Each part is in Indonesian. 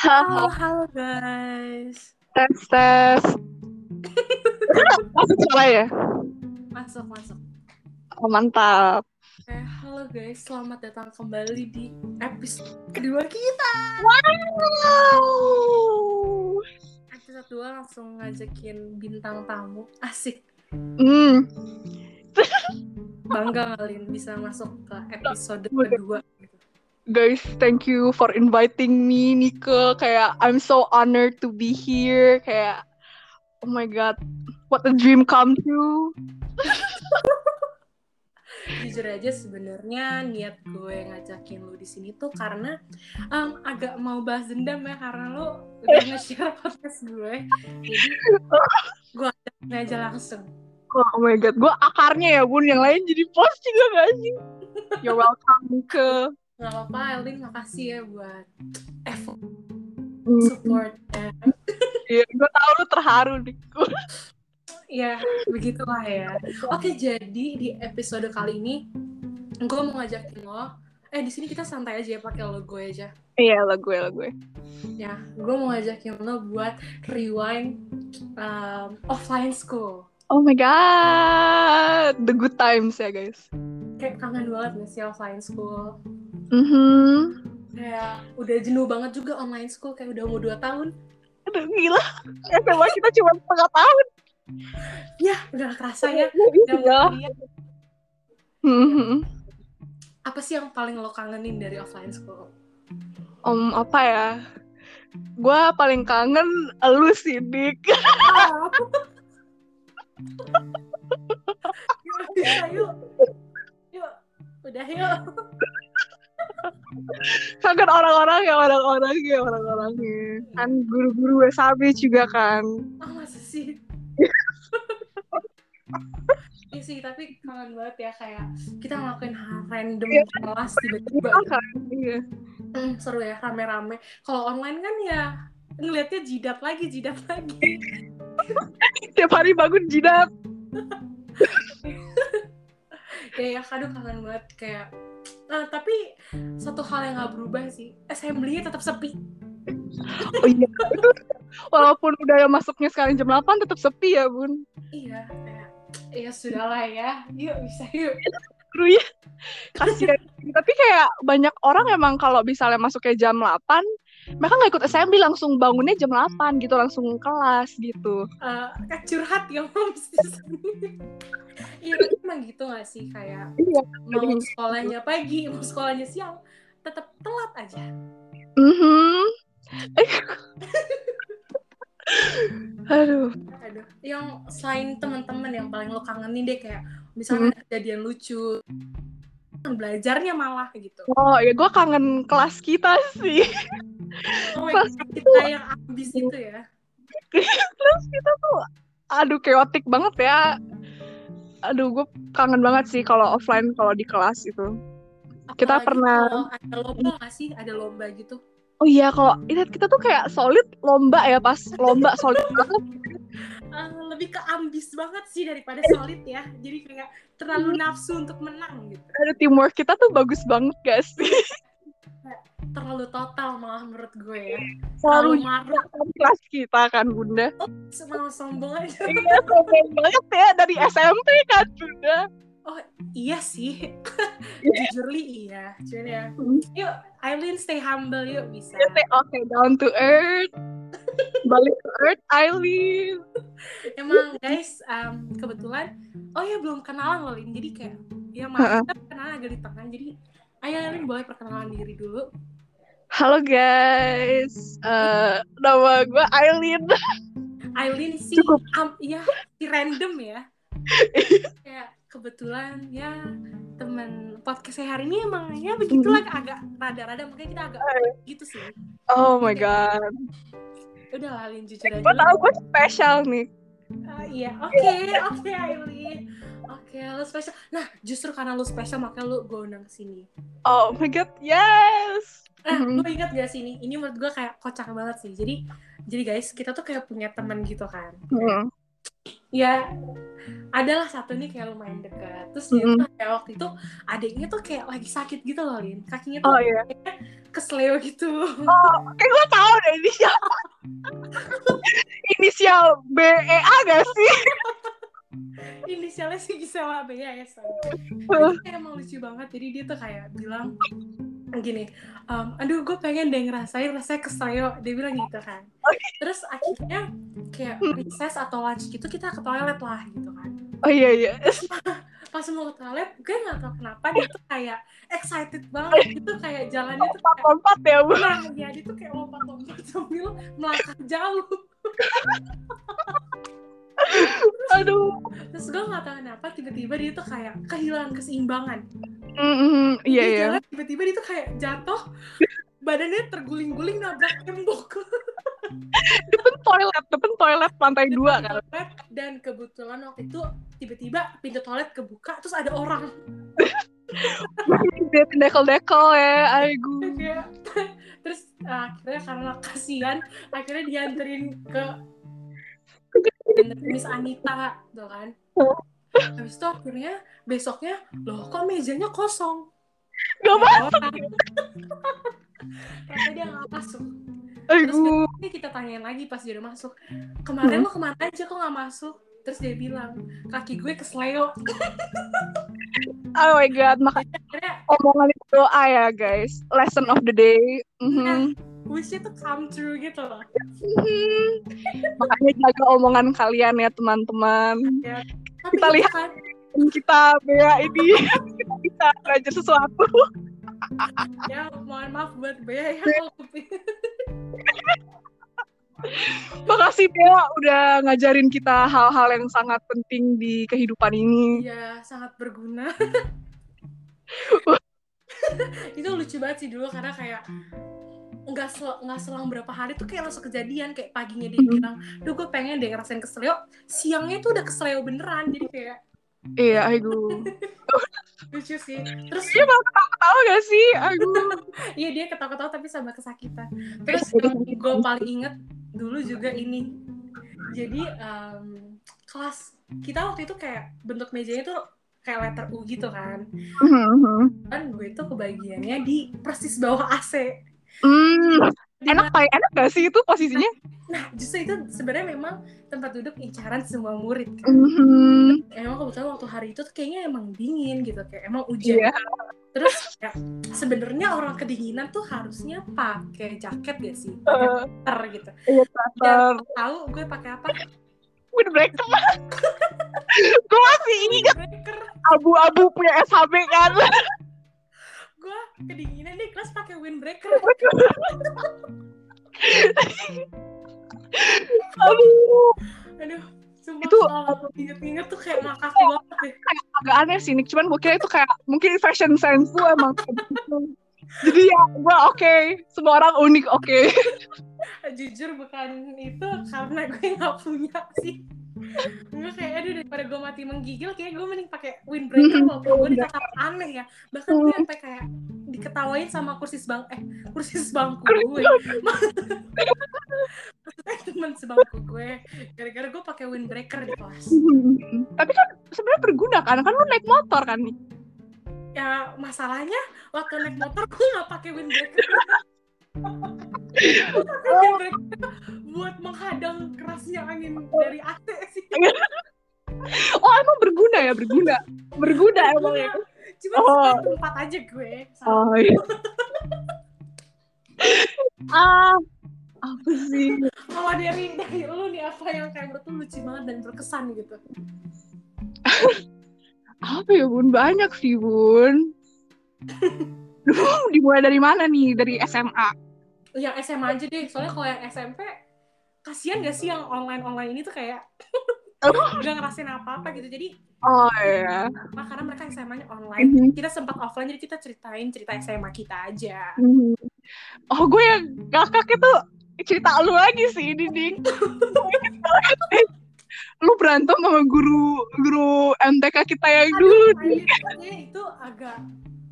Halo, Haha, halo guys. tes tes. Masuk salah ya? Masuk, masuk. Oh, mantap. Halo guys, selamat datang kembali di episode kedua kita. Wow. Episode 2 langsung ngajakin bintang tamu. Asik. Hmm. Bangga kalian bisa masuk ke episode Oh my God. kedua. Guys, thank you for inviting me, Nika. Kayak I'm so honored to be here. Kayak oh my God, what a dream come true. Jujur aja sebenarnya niat gue ngajakin lu di sini tuh karena agak mau bahas dendam ya, karena lu udah nge-share podcast gue. Jadi gue ajakin aja langsung. Oh my God, gue akarnya ya bun, yang lain jadi post juga gak sih? You're welcome ke. Gak apa-apa, Elin, makasih ya buat effort Hmm. supportnya. Iya, gue tahu lu terharu nih. Ya, begitulah ya. Oke, jadi di episode kali ini gue mau ngajakin lo. Di sini kita santai aja ya, pakai logo aja. Iya, lah gue. Ya, gue mau ngajakin lo buat rewind offline school. Oh my God, the good times ya guys. Kayak kangen banget gak sih offline school? Kayak udah jenuh banget juga online school, kayak udah mau 2 tahun. Aduh, gila, SMA kita cuma setengah tahun. Ya, udah kerasa ya. Udah mau Iya. kuliah. Apa sih yang paling lo kangenin dari offline school? Apa ya? Gue paling kangen elu sih, Dik. Yuk, bisa yuk. Yuk, udah yuk. Kangen orang-orangnya. Kan guru-guru SAB juga kan. Masa sih? Iya sih, tapi kangen banget ya, kayak kita ngelakuin hal random di kelas tiba-tiba. Iya. Seru ya, rame-rame. Kalau online kan ya ngeliatnya jidat lagi. Tiap hari bangun jidat. Ya, kadang kangen banget kayak. Nah, tapi satu hal yang gak berubah sih, assembly-nya tetap sepi. Oh iya, itu walaupun udah masuknya sekarang jam 8 tetap sepi ya, Bun. Iya, kayak ya sudahlah ya. Yuk, bisa yuk. Seru ya. Kasihan. Tapi kayak banyak orang emang kalau misalnya masuknya jam 8, mereka nggak ikut assembly, langsung bangunnya jam 8 gitu, langsung kelas gitu. Curhat ya, moms di sini. Iya, tapi emang gitu gak sih, kayak mau sekolahnya pagi, mau sekolahnya siang, tetap telat aja. Aduh. Yang selain teman-teman yang paling lo kangenin deh, kayak misalnya kejadian lucu, belajarnya malah gitu. Oh ya, gue kangen kelas kita sih. Kelas kita yang ambis gitu ya. Kelas kita tuh, aduh, chaotic banget ya. Aduh, gue kangen banget sih kalau offline, kalau di kelas itu. Apalagi Kita pernah. kalau ada lomba nggak sih? Ada lomba gitu. Oh iya, kalau kita tuh kayak solid lomba ya, pas lomba solid banget. Lebih ke ambis banget sih daripada solid ya. Jadi kayak terlalu nafsu untuk menang gitu. Ada teamwork kita tuh bagus banget gak sih? Terlalu total malah menurut gue ya. Terlalu maruk kelas kita kan, Bunda. Sombong aja. Iya, sombong banget ya, dari SMP kan, Bunda. Oh iya sih. Jujurly iya. Cuman ya, yuk Aileen stay humble yuk, bisa. Okay, down to earth. Balik ke earth, Aileen. Emang guys, kebetulan belum kenalan loh, Lin. Jadi kayak ya maaf, kita kenalan agak di tengah. Jadi ayo Aileen, boleh perkenalan diri dulu. Halo guys, nama gue Aileen. Aileen sih, si random ya. Kayak kebetulan ya teman podcast saya hari ini emang ya begitulah, agak rada-rada, makanya kita agak gitu sih. Oh my God. Udah lah, Aileen, jujur aja. Gue tau gue spesial nih. Iya, oke Aileen. Oke, lu spesial. Nah, justru karena lu spesial makanya gue undang kesini. Oh my God, yes. Lu ingat gak sih ini menurut gue kayak kocak banget sih. Jadi guys, kita tuh kayak punya teman gitu kan. Ya, adalah satu nih kayak lumayan dekat. Terus dia tuh kayak waktu itu adiknya tuh kayak lagi sakit gitu loh, Lin. Kakinya tuh kesleo gitu. Kayak gue tahu deh inisial BEA gak sih? Inisialnya sih Gisela Bea ya. Jadi kayak emang lucu banget. Jadi dia tuh kayak bilang gini, aduh gue pengen deh ngerasain rasanya kesleo. Dia bilang gitu kan. Terus akhirnya kayak recess atau lunch gitu kita ke toilet lah gitu kan. Oh iya. Pas mau ke toilet, gue gak tau kenapa dia tuh kayak excited banget. Itu kayak jalannya tuh kayak lompat ya Bu. Nah ya dia tuh kayak lompat-lompat sambil melangkah jauh. Aduh. Terus gue gak tahu kenapa tiba-tiba dia tuh kayak kehilangan keseimbangan. Iya. Jalan, tiba-tiba dia tuh kayak jatuh, badannya terguling-guling nabrak tembok. Depan toilet lantai 2 kan. Dan kebetulan waktu itu tiba-tiba pintu toilet kebuka terus ada orang. Dia dekel-dekel ya, aigu. Terus akhirnya karena kasihan, akhirnya dianterin ke Miss Anita tuh kan. Habis itu akhirnya besoknya loh kok mejanya kosong. Gak masuk. Ternyata dia gak masuk. Aigu. Terus kita tanyain lagi pas dia udah masuk, kemarin lo kemana aja kok gak masuk? Terus dia bilang, kaki gue kesleo. Oh my god, makanya omongan itu doa ya guys. Lesson of the day. Wish-nya tuh come true gitu loh. Makanya jaga omongan kalian ya teman-teman. Ya, kita lihat kan, kita Bea ini kita bisa belajar sesuatu. Ya mohon maaf buat Bea ya. Makasih Bea udah ngajarin kita hal-hal yang sangat penting di kehidupan ini. Iya, sangat berguna. Itu lucu banget sih dulu karena kayak nggak selang berapa hari tuh kayak langsung kejadian. Kayak paginya dia bilang, duh gue pengen deh ngerasain kesleo, siangnya tuh udah kesleo beneran. Jadi kayak iya, aigu. lucu sih. Terus dia malah ketawa gak sih? Aigu. Iya dia ketawa-ketawa tapi sama kesakitan. Terus gue paling inget dulu juga ini. Jadi kelas kita waktu itu kayak bentuk mejanya tuh kayak letter U gitu kan. Dan gue tuh kebagiannya di persis bawah AC. Enak gak sih itu posisinya? Nah justru itu sebenarnya memang tempat duduk incaran semua murid kan. Emang kebetulan waktu hari itu tuh kayaknya emang dingin gitu, kayak emang hujan. Terus ya, sebenarnya orang kedinginan tuh harusnya pakai jaket gak sih? Pakai gitu. Iya, dan tahu gue pakai apa? Windbreaker. Gue masih ingat abu-abu punya SHB kan. Gue kedinginan di kelas pakai windbreaker. Aduh, sumpah itu inget-inget tuh kayak ngakak banget deh. Agak aneh sih, cuman gue kira itu kayak mungkin fashion sense tuh emang jadi ya gue oke. Semua orang unik oke. Jujur bukan itu karena gue nggak punya sih. Gue kayak aduh daripada gue mati menggigil kayak gue mending pakai windbreaker walaupun gue dikata aneh ya. Bahkan gue sampai kayak diketawain sama kursis bangku gue. Maksudnya teman sebangku gue gara-gara gue pakai windbreaker di kelas. Tapi kan sebenarnya berguna kan lu naik motor kan nih. Ya masalahnya waktu naik motor gue nggak pakai windbreaker. Buat menghadang kerasnya angin dari AC sih. Oh emang berguna emang ya. Cuma sekali tempat aja gue. Oh iya. Apa sih? Kalau dari lu nih apa yang kayak menurut lu lucu banget dan berkesan gitu? Apa ya Bun? Banyak sih Bun. Dimulai dari mana nih? Dari SMA? Yang SMA aja deh. Soalnya kalau yang SMP kasian gak sih yang online ini tuh kayak gak ngerasain apa-apa gitu. Jadi iya. Karena mereka SMA-nya online. Kita sempat offline jadi kita ceritain cerita SMA kita aja. Oh gue yang ngakak itu cerita lu lagi sih ini Ding. Lu berantem sama guru MTK kita yang dulu nih. Itu agak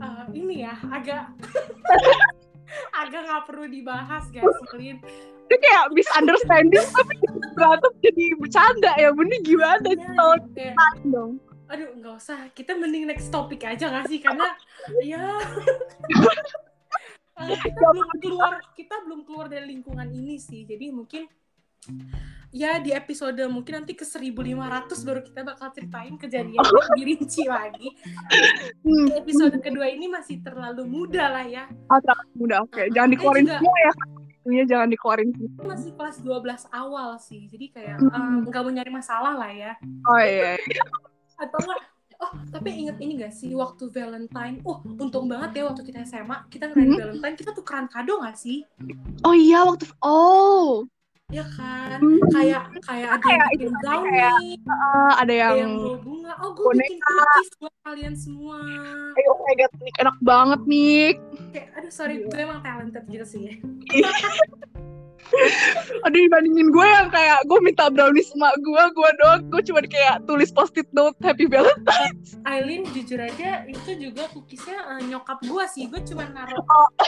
agak nggak perlu dibahas guys, Lin. Itu kayak misunderstanding tapi berantem jadi bercanda ya, bener gimana dong? Aduh nggak usah, kita mending next topic aja nggak sih karena ya kita belum keluar dari lingkungan ini sih. Jadi mungkin ya di episode mungkin nanti ke 1500 baru kita bakal ceritain kejadian lebih rinci lagi. Di episode kedua ini masih terlalu muda lah ya. Terlalu muda, oke. Jangan dikeluarin semua ya. Itunya jangan dikeluarin semua. Masih kelas 12 awal sih. Jadi kayak nggak mau nyari masalah lah ya. Oh iya. Atau enggak, tapi inget ini gak sih waktu Valentine? Untung banget ya waktu kita SMA, kita ngerayain Valentine, kita tukeran kado gak sih? Oh iya, ya kan, kayak ada yang bikin brownie, ada yang bawa bunga. Gue bikin cookies buat kalian semua. Oh my god, Nick, enak banget Nick. Kayak, aduh sorry, gue emang talented gitu sih ya. Aduh, dibandingin gue yang kayak gue minta brownie sama gue doang, gue cuma kayak tulis post-it note Happy Valentine's. Aileen jujur aja itu juga cookiesnya nyokap gue sih, gue cuma naruh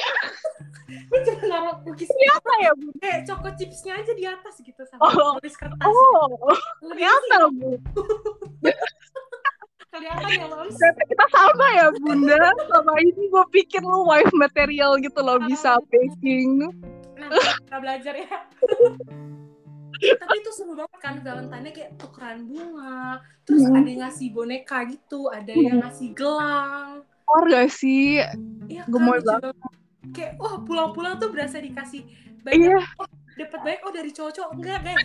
cookiesnya apa ya Bu? Kayak choco chipsnya aja di atas gitu sama tulis kertas. Ternyata Bu. Kelihatan ya Mams. Kita sama ya Bunda. Sama ini gue pikir lu wife material gitu loh, bisa baking. Kita belajar ya. Tapi itu seru banget kan Valentine-nya, kayak tukeran bunga, terus ada yang ngasih boneka gitu, ada yang ngasih gelang. Gak sih? Iya kan, gemoy banget. Kayak pulang-pulang tuh berasa dikasih banyak. Dapat banyak dari cowok-cowok. Enggak guys,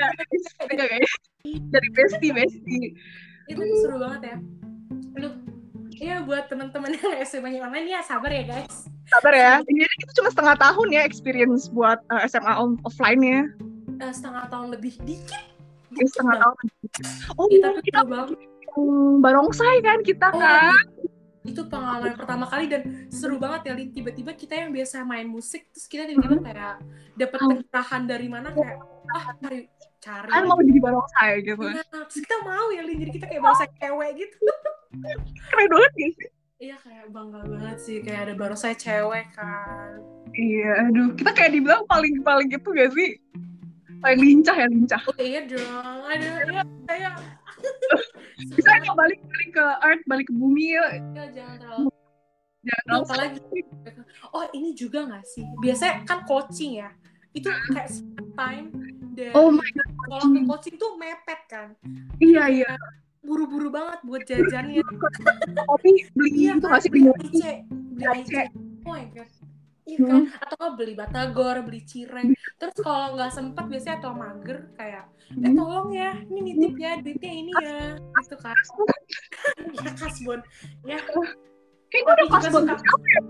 dari bestie. Itu seru banget ya. Lu ya buat teman-teman yang SMA online ya sabar ya guys. Sabar ya. Ini itu cuma setengah tahun ya experience buat SMA offline-nya. Setengah tahun lebih dikit. Setengah tahun. Tapi kita barongsai kan kita kan. Itu pengalaman pertama kali dan seru banget ya, tiba-tiba kita yang biasa main musik terus kita tiba-tiba kayak dapat pencerahan dari mana kayak mari cari kan mau jadi barongsai gitu. Nah, terus kita mau ya Lin, jadi kita kayak barongsai cewek gitu. Keren banget gak sih? Iya kayak bangga banget sih kayak ada barongsai cewek kan. Iya, aduh kita kayak dibilang paling gitu gak sih? Paling lincah. Oh iya dong, aduh ya bisa nggak balik ke earth, balik ke bumi ya? Jangan terlalu apalagi. Ini juga nggak sih biasanya kan coaching ya, itu kayak time dari sekolah ke coaching tuh mepet kan. Iya buru-buru banget buat jajannya. Tapi beli itu nggak sih, beli IC. Oh my god. Iya kan, atau beli batagor, beli cireng. Terus kalau nggak sempet biasanya atau mager kayak tolong ya, ini nitip ya duitnya ini ya, gitu kan. Ya kasbon, ya. Kayak gue udah kasbon siapa ya?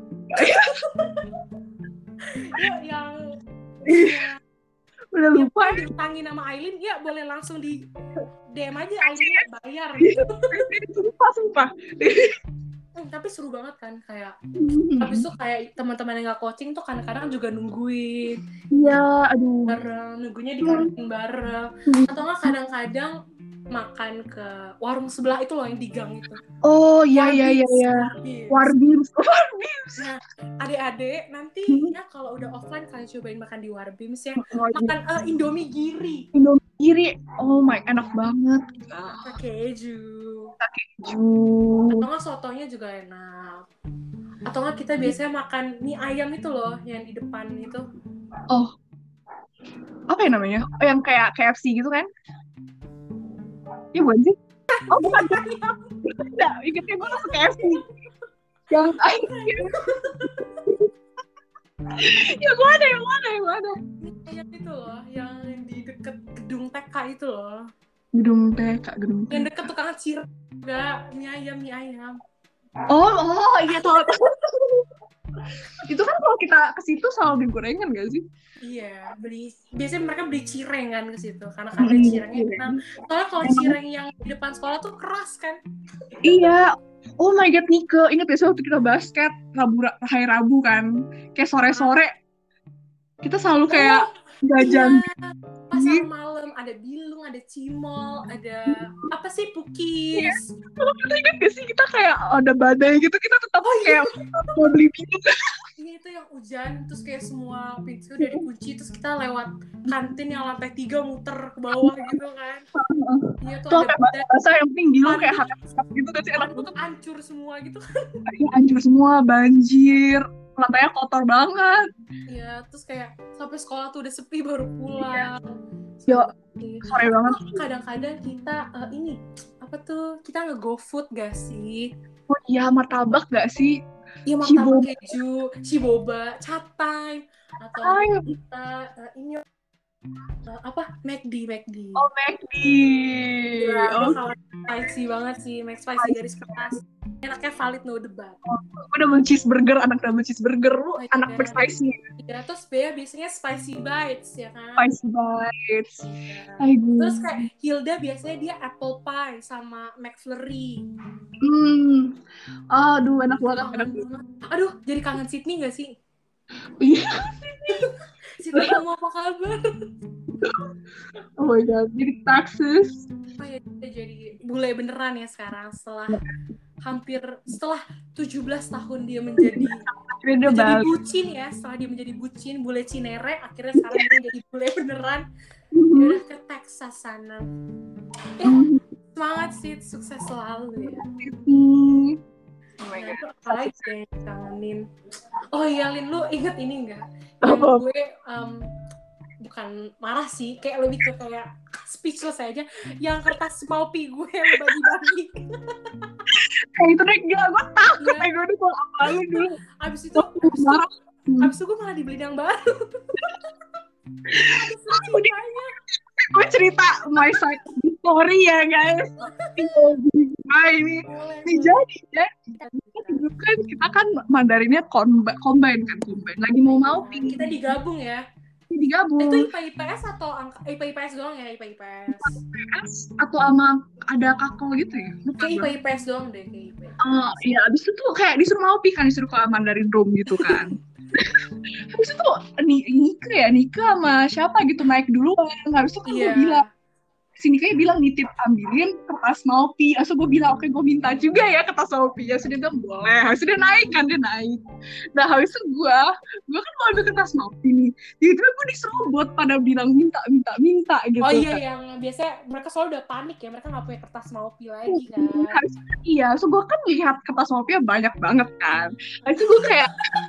yang udah lupa. Ditangin nama Aileen, ya boleh langsung di DM aja Aileen bayar. Gitu. Sumpah. Tapi seru banget kan kayak habis itu kayak teman-teman yang nggak coaching tuh kadang-kadang juga nungguin. Iya, aduh. Bareng, nunggunya di kantin bareng. Atau nggak kadang-kadang makan ke warung sebelah itu loh yang di gang itu. Oh iya. Warbims. Nah, adik-adik nanti ya kalau udah offline kalian cobain makan di Warbims ya. Makan Indomie Giri. Oh my, enak banget. Keju. Atau nggak sotonya juga enak. Atau nggak kita biasanya makan mie ayam itu loh yang di depan itu. Oh, apa ya namanya? Oh, yang kayak KFC gitu kan? Iya bukan sih? Oh bukan. Enggak, ingetnya gue langsung KFC. Yang yang mana? Yang itu loh, yang di deket gedung TK itu loh. Gedung TK. Yang deket tukang cireng, enggak, mie ayam. Oh iya tahu. Itu kan kalau kita ke situ selalu beli gorengan gak sih? Iya, biasanya mereka beli cireng kan ke situ karena ada cirengnya enak. Soalnya kalau cireng yang di depan sekolah tuh keras kan. Iya. Oh my god, Nike, ingat ya waktu kita basket hari Rabu kan, kayak sore-sore kita selalu kayak jajan. Pasar malam ada bilung, ada cimol, ada apa sih pukis. Kalau kita ingat gak sih kita kayak ada badai gitu, kita tetap kayak mau beli minum. Iya itu yang hujan, terus kayak semua pintu udah dikunci, terus kita lewat kantin yang lantai 3 muter ke bawah gitu kan. Iya tuh ada badai. Bahasa yang penting bilung kayak hangat gitu kan sih, enak banget. Hancur semua gitu kan. Hancur semua, banjir. lantainya kotor banget. Iya, terus kayak sampai sekolah tuh udah sepi baru pulang. Yo, Iya. sore banget. Kadang-kadang kita ini apa tuh, kita nge-GoFood gak sih? Oh iya, martabak gak sih? Iya, martabak keju, Ciboba, Chat Time, atau kita ini apa, McD. Oh, McD. Gila, gue Oh, kalau spicy banget sih, McSpicy garis keras. Enaknya valid, no debat. gue double cheeseburger, anak double cheeseburger. Lu Oh, anak iya. McSpicy. Ya, terus biasanya spicy bites, ya kan? Spicy bites. Iya. Terus kayak Hilda biasanya dia apple pie sama McFlurry. Aduh, enak banget. Aduh, jadi kangen Sydney gak sih? Iya. Sydney, kamu apa kabar? Oh my god, jadi Texas. Oh ya, dia jadi bule beneran ya sekarang setelah 17 tahun dia menjadi bucin ya. Setelah dia menjadi bucin, bule Cinere, akhirnya sekarang dia jadi bule beneran. Dia udah ke Texas sana. Semangat sih, sukses selalu ya. Oh my god. Apalagi yang kangenin. Oh iya, Lin, lu inget ini nggak? Yang gue bukan marah sih, kayak lebih ke kayak speechless aja. Yang kertas Maupi gue yang bagi-bagi. Kayak itu deh, gila, gue takut kayak gue mau apalin dulu. Abis itu gue malah dibeliin yang baru. Gue cerita my side story ya guys. Ini jadi kan kita kan Mandarinnya combine kan, lagi mau kita digabung ya. Digabung. Itu IPA IPS atau IPA IPS doang ya? IPA IPS atau sama ada kakak gitu ya? Kayak IPA IPS doang deh, kayak IPS. Iya, abis itu kayak disuruh Maupi kan, disuruh ke Mandarin Room gitu kan. Habis itu Nika sama siapa gitu naik duluan. Habis itu kan gue bilang, sini kayak bilang nitip ambilin kertas Maupi. Asal gue bilang oke, gue minta juga ya kertas Maupi. Ya sudah, bilang boleh. Habis itu dia naik. Nah habis itu gue kan mau ambil kertas Maupi nih. Tiba-tiba gue diserobot pada bilang minta gitu. Oh iya, yang biasanya mereka selalu udah panik ya, mereka nggak punya kertas Maupi lagi kan. Iya, so gue kan lihat kertas Maupi banyak banget kan. Habis itu gue kayak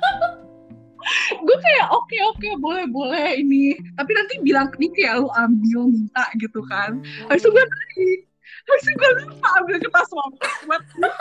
oke boleh ini, tapi nanti bilang ke Nika ya lu ambil minta gitu kan. Habis itu gue lupa ambil kertas Maupi buat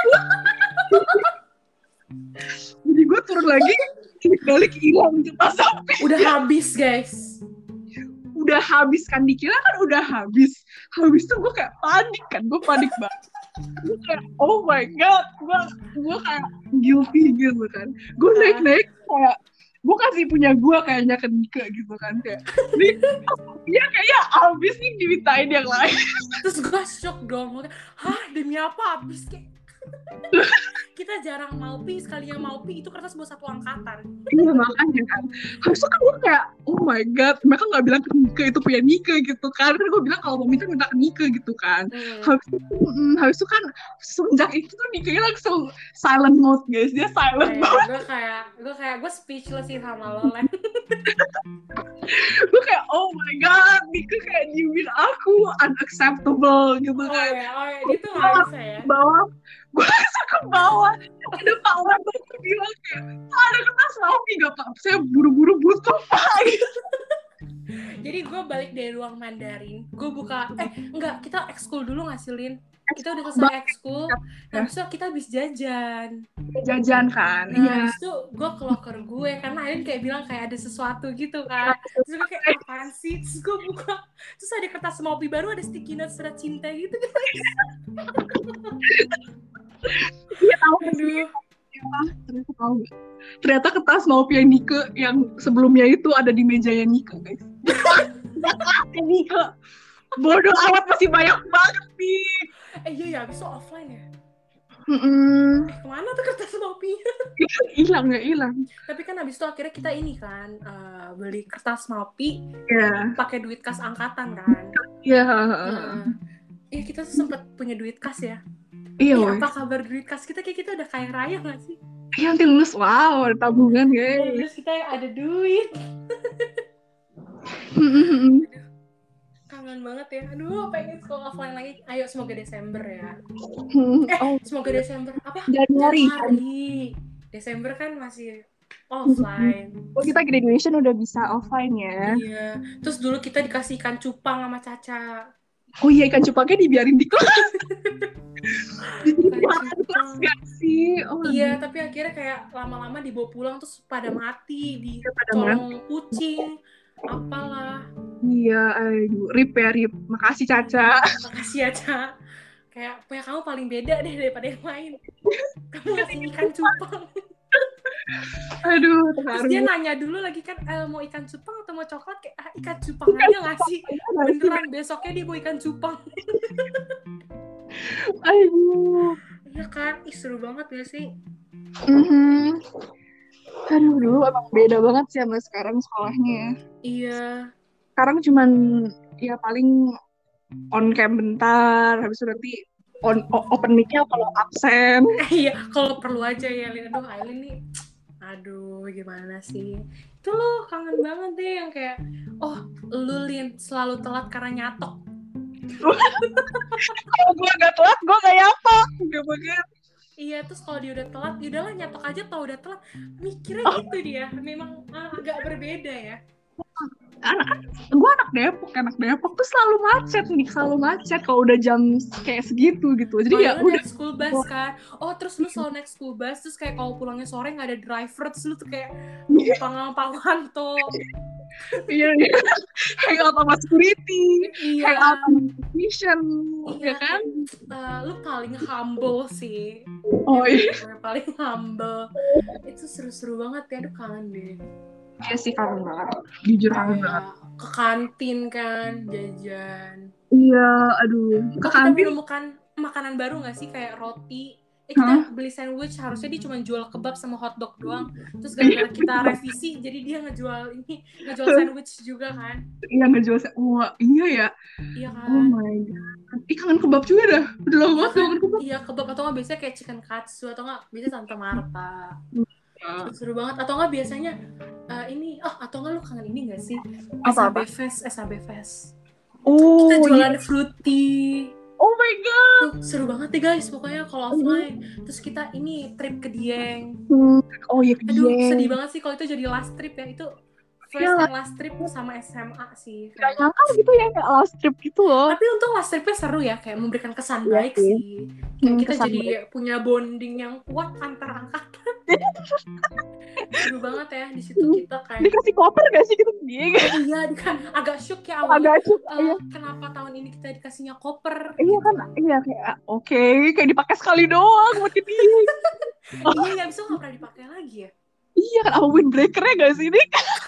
jadi gue turun lagi, balik hilang kertas Maupi. Udah habis guys, udah habis kan, dikira kan udah habis itu gue kayak panik banget. Gue kayak oh my god, gue kayak guilty gitu kan. Gue naik kayak gue kasih punya gue kayaknya ke Nika gitu kan, kayak dia kayaknya habis nih dimintain yang lain. Terus gue shock dong, hah demi apa habis kayak kita jarang Maupi, sekali yang Maupi itu kertas buat satu angkatan. Iya makanya kan. Habis itu kan gue kayak oh my god, mereka nggak bilang ke Nika itu punya Nika gitu kan. Gue bilang kalau mau minta ke Nika gitu kan. Habis itu kan semenjak itu tuh Nika langsung silent mode guys, dia silent banget. Gue speechless sih sama lo Len. Gue kayak oh my god, Nika kayak diemin aku, unacceptable gitu kan. Oh ya, itu nggak bisa ya. Gue langsung ke bawah, ada Pak Wabah tuh bilang kayak ada kertas Maupi gak Pak? Saya buru-buru butuh Pak. Jadi gue balik dari ruang Mandarin, gue buka, enggak, kita ekskul dulu gak sih Lin? Kita udah selesai ekskul, nah besok kita habis jajan kan. Nah habis itu gue ke locker gue, karena Arin kayak bilang kayak ada sesuatu gitu kan. Terus gue kayak apaan sih? Terus gue buka, terus ada kertas Maupi baru, ada sticky note surat cinta gitu guys. Iya tahu. Aduh. Ternyata kertas Maupi yang Nika yang sebelumnya itu ada di mejanya Nika guys. Nika bodoh amat, masih banyak banget nih. Iya habis itu offline ya. Kemana tuh kertas Maupi-nya? Hilang. Tapi kan habis itu akhirnya kita ini kan beli kertas Maupi pakai duit kas angkatan kan. Iya. Iya kita tuh sempat punya duit kas ya. Iya. Apa kabar duit kas kita, kayak kita udah kaya raya nggak sih? Iya nanti lulus, wow ada tabungan guys. Terus kita ada duit. Kangen banget ya. Aduh, pengen sekolah offline lagi. Ayo semoga Desember ya. Semoga Desember. Apa? Januari. Desember kan masih Offline. Oh, kita graduation udah bisa offline ya. Iya. Terus dulu kita dikasih ikan cupang sama Caca. Oh iya, ikan cupangnya dibiarin di kelas. Ikan Di kelas cupang. gak sih? Oh, Iya, tapi akhirnya kayak lama-lama dibawa pulang terus pada mati, pada mana? dicolong kucing, apalah. Iya, aduh, rip ya, rip. Makasih Caca. Makasih ya, Ca. Kayak punya kamu paling beda deh daripada yang lain. Kamu ngasih ikan cupang. Aduh, Terus dia terharu. nanya dulu lagi kan, mau ikan cupang atau mau coklat? Kayak, ikan cupang aja ngasih. Beneran, besoknya dia bawa ikan cupang. Aduh. Iya kan, seru banget gak sih? Aduh, dulu emang beda banget sih sama sekarang sekolahnya. Iya. Sekarang cuman ya paling on cam bentar, habis itu nanti open mic-nya kalau absen. Iya, kalau perlu aja ya, Lin. Aduh, Aileen nih, aduh, gimana sih? Itu lo kangen banget deh yang kayak, lu Lin selalu telat karena nyatok. Kalau gue gak telat, gue kayak apa? Gak banget. Iya, terus kalau dia udah telat, ya udahlah nyatok aja tau udah telat. Mikirnya gitu dia, memang agak berbeda ya. Gue anak Depok tuh selalu macet kalau udah jam kayak segitu gitu. Jadi ya lu udah naik school bus kan. Terus lu selalu naik school bus, terus kayak kalau pulangnya sore nggak ada driver, terus lu tuh kayak numpang tuh. iya hang out sama security, hang out sama technician, iya, ya kan? Lu paling humble sih. Oh iya. Paling humble. Itu seru-seru banget ya, aduh kangen deh. Iya sih, kangen banget. Jujur kangen banget. Ke kantin kan, jajan. Iya, aduh. Ke kita kantin menemukan makanan baru nggak sih, kayak roti. Kita beli sandwich, harusnya dia cuma jual kebab sama hotdog doang. Terus gara-gara kita revisi, jadi dia ngejual sandwich juga kan. Iya, ngejual. Wah, iya ya. Iya kan. Oh my god. Kangen kebab juga dah. Udah lama banget kangen kebab. Iya, kebab atau nggak biasanya kayak chicken katsu, atau nggak biasanya Tante Marta. Seru banget. Atau nggak biasanya atau nggak lu kangen ini nggak sih? SAB Fest. Oh, kita jualan fruity. Oh my god. Seru banget deh guys, pokoknya kalau offline. Terus kita ini trip ke Dieng. Oh iya, ke Dieng. Aduh, sedih banget sih kalau itu jadi last trip ya. Itu first and last trip sama SMA sih. Gak nyangka gitu ya, kayak last trip gitu loh. Tapi untung last tripnya seru ya, kayak memberikan kesan baik sih. Kayak kita jadi punya bonding yang kuat antar angkatan. Seru banget ya di situ kita kayak. Dikasih koper gak sih gitu dia? Iya, kan agak shock ya awalnya. Agak shock. Kenapa tahun ini kita dikasihnya koper? Iya kan, iya kayak oke, kayak dipakai sekali doang buat dia. Iya, abis itu nggak pernah dipakai lagi ya. Iya kan, apa windbreaker-nya gak sih ini?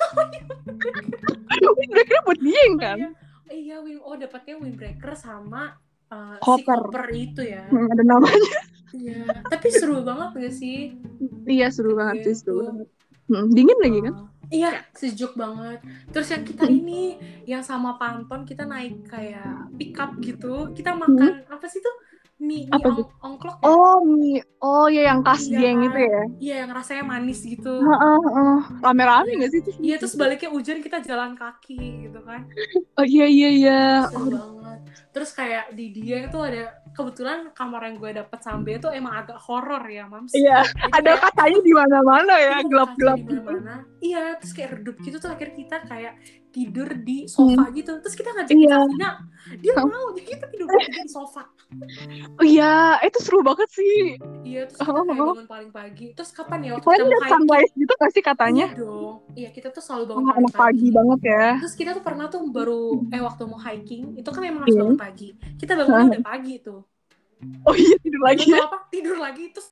Windbreaker-nya buat dia kan? Iya, dapatnya windbreaker sama koper. Si koper itu ya. Ada namanya. Iya, tapi seru banget gak sih? Iya, seru banget sih, seru banget. Dingin lagi kan? Iya, sejuk banget. Terus yang kita ini, yang sama Panton, kita naik kayak pick up gitu. Kita makan, apa sih tuh? Mie ongklok ya? Mie. Oh ya, yang khas Dieng itu ya? Iya, yang rasanya manis gitu. Rame-rame gak sih itu? Iya, terus baliknya hujan, kita jalan kaki gitu kan. Oh iya. Seru banget. Terus kayak di Dieng tuh ada, kebetulan kamar yang gue dapet sambil itu emang agak horor ya, Mams. Iya, ada kacanya di mana-mana ya, gelap-gelap gitu. Iya, terus kayak redup gitu, tuh akhirnya kita kayak tidur di sofa gitu. Terus kita ngajakin Safina, dia mau, jadi kita tidur di sofa. Oh iya, itu seru banget sih. Iya, terus kita kayak bangun paling pagi. Terus kapan ya waktu kita mau hiking? Sunrise gitu gak sih katanya? Iya dong. Iya, kita tuh selalu bangun paling pagi banget ya. Terus kita tuh pernah tuh baru waktu mau hiking, itu kan memang harus bangun pagi. Kita bangunnya udah pagi tuh. Oh iya, tidur lagi ya? Tidur lagi, terus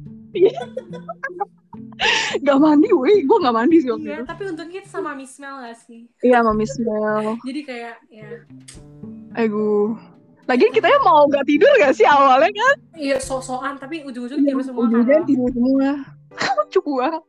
gak mandi, gue gak mandi sih waktu itu. Tapi untungnya kita sama Miss Mel gak sih? Iya, sama Miss Mel. Jadi kayak, ya. Lagian kita mau gak tidur gak sih awalnya kan? Iya, sok-sokan, tapi ujung-ujungnya tidur semua. Ujung-ujungnya tidur semua. Cukup banget.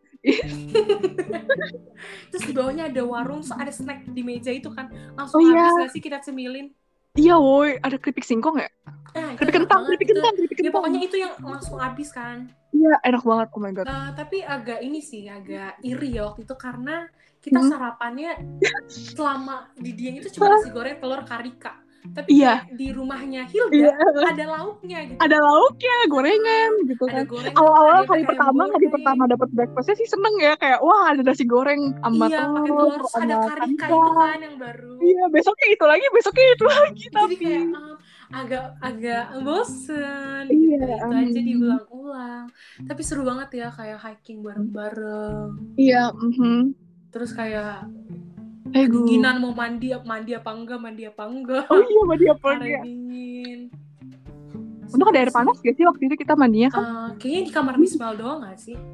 Terus di bawahnya ada warung, ada snack di meja itu kan. Langsung habis gak sih kita cemilin? Iya woi, ada keripik singkong ya? Keripik kentang. Ya pokoknya itu yang langsung habis kan. Iya, enak banget, oh my god. Tapi agak iri ya waktu itu, karena kita sarapannya selama di Dieng itu cuma nasi goreng telur karika. tapi Iya. kayak di rumahnya Hilda Iya. ada lauknya gitu. Ada lauknya, gorengan gitu Ada kan. gorengan, Awal-awal ada hari ayam pertama goreng. dapat breakfastnya sih seneng ya, kayak wah ada nasi goreng sama Iya, pakai telur, telur, terus ada sama karika itu kacang. kan yang baru. Iya, besoknya itu lagi Jadi tapi kayak agak bosen iya, gitu, itu aja diulang-ulang. Tapi seru banget ya kayak hiking bareng-bareng. iya, Terus kayak Aduh. kedinginan mau mandi apa enggak. Oh iya, mandi apa Hari enggak? dingin. Untung ada air panas gak sih waktu itu kita mandinya kan? Kayaknya di kamar Mismel doang gak sih?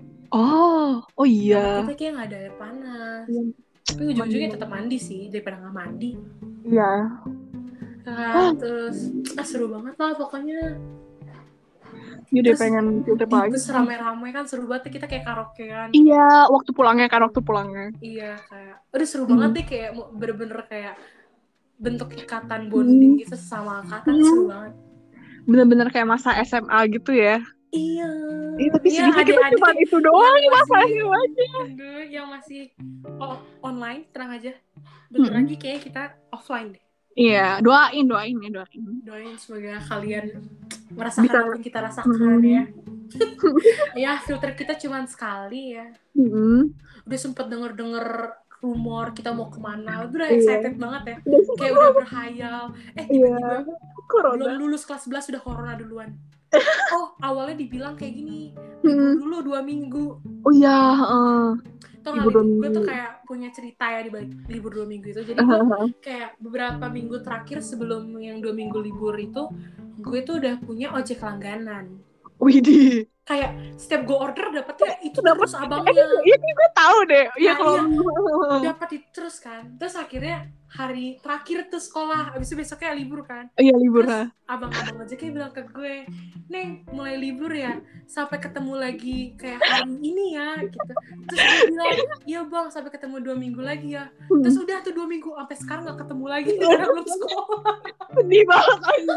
Oh iya. Kita kayak gak ada air panas. Iya. Tapi ujung-ujungnya tetap mandi sih daripada gak mandi. Iya. Terus seru banget lah pokoknya. Jadi pengen filter lagi. Terus rame-rame kan seru banget, kita kayak karaokean. Iya, waktu pulangnya. Iya, kayak udah seru banget deh, kayak bener-bener kayak bentuk ikatan bonding gitu sama angkatan. Seru banget. Bener-bener kayak masa SMA gitu ya. Iya. Tapi sedihnya kita cuma itu doang masanya aja. Yang masih online, tenang aja. Bentar lagi kayak kita offline deh. Iya, doain. Doain semoga kalian merasakan apa yang kita rasakan ya. Ya, filter kita cuma sekali ya. Udah sempet denger rumor kita mau kemana, udah excited banget ya. Kayak udah berhayal. Tiba-tiba belum lulus kelas 11 sudah corona duluan. Awalnya dibilang kayak gini, libur dulu 2 minggu. Oh iya, gue tuh kayak punya cerita ya di balik libur 2 minggu itu. Jadi gue kayak beberapa minggu terakhir sebelum yang 2 minggu libur itu, gue tuh udah punya ojek langganan. Widih. Kayak setiap gue order dapetnya itu terus abangnya. Ini gue tahu deh. Iya, dapat itu terus kan. Terus akhirnya hari terakhir tuh sekolah, abis itu besoknya libur kan. Iya, libur. Terus abang-abang ojeknya bilang ke gue, "Neng, mulai libur ya, sampai ketemu lagi kayak hari ini ya," gitu. Terus gue bilang, "Iya bang, sampai ketemu 2 minggu lagi ya." Terus udah tuh 2 minggu sampai sekarang gak ketemu lagi karena belum sekolah. Sedih banget aja.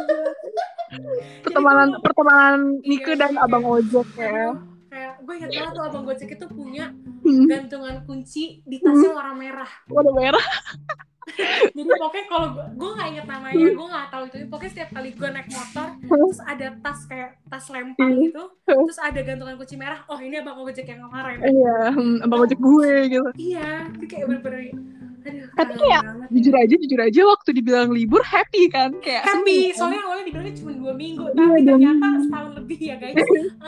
Pertemanan Nike dan abang ojek ya. Kayak gue ingat banget tuh abang ojek itu punya gantungan kunci di tasnya warna merah. Warna merah. Jadi pokoknya kalau gue nggak inget namanya, gue nggak tahu itu. Pokoknya setiap kali gue naik motor, terus ada tas kayak tas lempang gitu, terus ada gantungan kunci merah. Oh ini abang ojek yang kemarin. Iya, abang ojek gue gitu. Iya, itu kayak bener-bener. Tapi kayak jujur aja waktu dibilang libur happy kan, kayak happy. Soalnya awalnya dibilangnya cuma 2 minggu, tapi ternyata setahun lebih ya guys.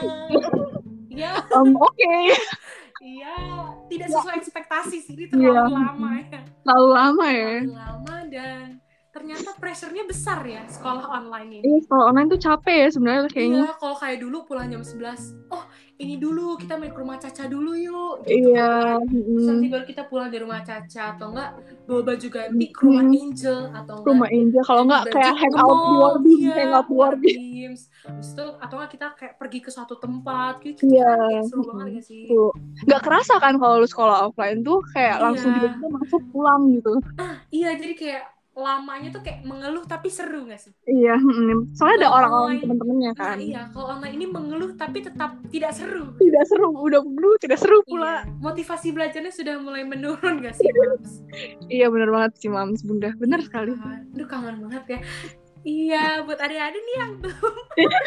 Ya. Oke. Iya, tidak sesuai ekspektasi sih, ini terlalu lama ya. Terlalu lama dan ternyata pressure-nya besar ya sekolah online ini. Iya, sekolah online tuh capek ya sebenarnya kayaknya. Iya, kalau kayak dulu pulang jam 11, ini dulu kita main ke rumah Caca dulu yuk gitu. Iya. Terus nanti baru kita pulang dari rumah Caca, atau enggak bawa baju ganti ke rumah Angel, atau enggak rumah Angel, kalau enggak kayak hangout di Warbeams. Habis itu atau enggak kita kayak pergi ke suatu tempat gitu. Kayak seru banget gak sih? Enggak kerasa kan kalau lu sekolah offline tuh kayak langsung tiba-tiba masuk pulang gitu. Iya, jadi kayak lamanya tuh kayak mengeluh tapi seru gak sih? Iya, soalnya ada orang-orang teman-temannya kan. Iya, kalau online ini mengeluh tapi tetap tidak seru. Tidak seru, udah mengeluh tidak seru pula. Iya. Motivasi belajarnya sudah mulai menurun gak sih, Mams? Iya, benar banget sih, Mams, Bunda. Benar sekali. Aduh, kangen banget ya. Iya, buat adik-adik nih yang belum.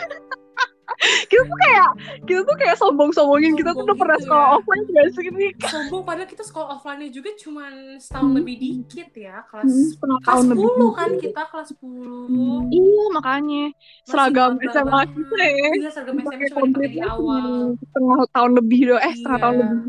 kita tuh kayak sombong-sombongin kita tuh udah pernah sekolah offline juga sih ini. Sombong, padahal kita sekolah offline-nya juga cuma setahun lebih dikit ya, kelas 10 kan kita, kelas 10. Iya, makanya seragam SMA kita ya. Iya, seragam SMA cuma dipakai di awal. Setengah tahun lebih setengah tahun lebih.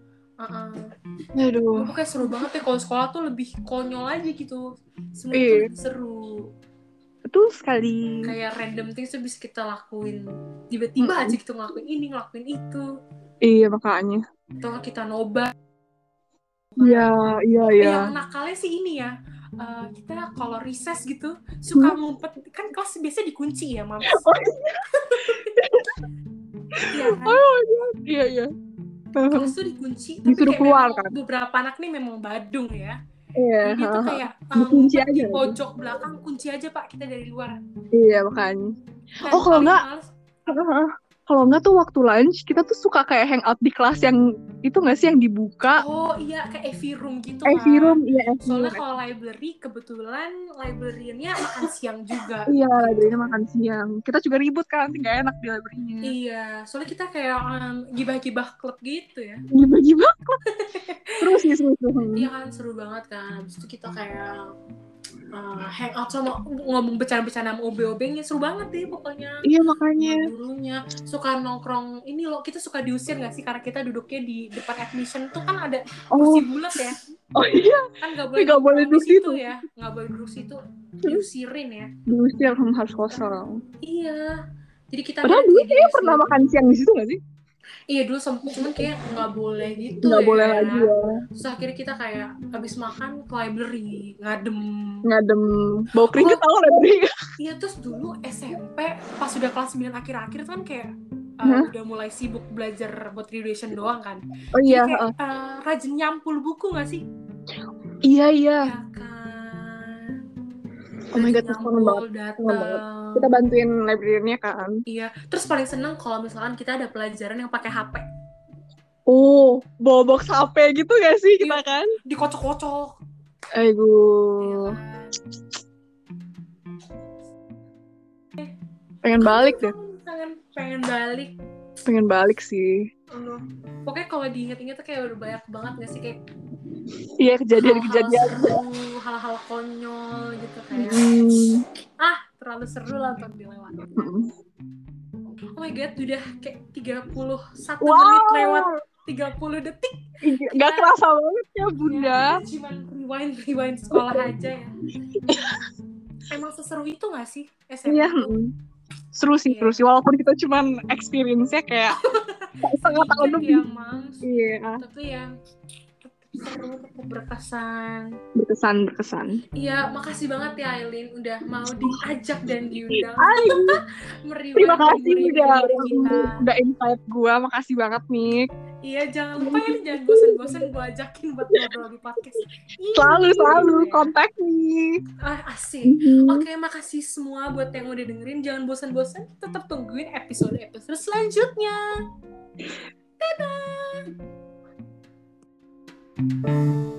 Aduh. Pokoknya seru banget ya, kalau sekolah tuh lebih konyol aja gitu. Semua tuh seru. Betul sekali. Kayak random things tuh bisa kita lakuin. Tiba-tiba aja kita ngelakuin ini, ngelakuin itu. Iya, makanya. Atau kita nobar. Iya. Yang nakalnya sih ini ya. Kita kalau recess gitu suka ngumpet. Kan kelas biasa dikunci ya, Mams. Iya kan? Iya. Kelas tuh dikunci. Disuruh keluar kan? Beberapa anak nih memang badung ya. Iya. Dia tuh kayak kunci aja di pojok belakang, kunci aja Pak, kita dari luar. Iya, makanya. Kalau kalau nggak tuh waktu lunch kita tuh suka kayak hangout di kelas yang itu nggak sih yang dibuka. Oh iya, kayak AV room gitu AV kan. room, iya AV Soalnya room. kalau library kebetulan librariannya makan siang juga. Iya, gitu. library makan siang. Kita juga ribut kan, nggak enak di library-nya. Iya, soalnya kita kayak gibah-gibah klub gitu ya. Gibah-gibah. Terus sih seru. Iya kan, seru banget kan. Habis itu kita kayak hangout sama ngomong bercanda-bercanda sama OB-OB-nya, seru banget deh pokoknya. Iya makanya. Gurunya suka nongkrong ini loh, kita suka diusir nggak sih karena kita duduknya di depan admission tuh kan ada kursi bulat ya. Oh iya. Kan nggak Nggak boleh duduk duduk situ ya, nggak boleh duduk situ, diusirin ya. Diusir harus kosong. Iya, jadi kita padahal dulu kayaknya pernah makan siang di situ nggak sih? Iya dulu cuman kayak nggak boleh gitu nggak ya. boleh lagi ya. Terus akhirnya kita kayak habis makan ke library ngadem bau keringet tau library. Iya, terus dulu SMP pas udah kelas 9 akhir-akhir kan kayak udah mulai sibuk belajar buat graduation doang kan. Oh iya. Jadi kayak rajin nyampul buku nggak sih? Iya. Ya kan. Oh my god, seneng banget. Kita bantuin librariannya kan. Iya, terus paling seneng kalau misalkan kita ada pelajaran yang pakai HP. Oh, bawa box HP gitu gak sih kita kan? Dikocok-kocok. Aduh. Iya kan? Pengen balik deh. Pengen balik sih. Pokoknya kalau diinget-inget tuh kayak udah banyak banget gak sih kayak iya kejadian-kejadian hal-hal konyol gitu kayak terlalu seru lah untuk dilewati. Oh my god, udah kayak 31 menit lewat 30 detik. Gak kerasa banget ya bunda. Cuman rewind sekolah aja ya. Emang seseru itu gak sih SMP? Iya. Seru sih. Walaupun kita cuman experience-nya kayak setengah tahun lebih. Iya. Tapi ya seru, berkesan. Iya, makasih banget ya Aileen udah mau diajak dan diundang. Terima kasih udah invite gue, makasih banget Nick. Iya, jangan lupa ya, jangan bosan-bosan gue ajakin buat ngobrol di podcast. Selalu kontak nih. Asik. Oke, makasih semua buat yang udah dengerin. Jangan bosan-bosan, tetap tungguin episode selanjutnya. Dadah.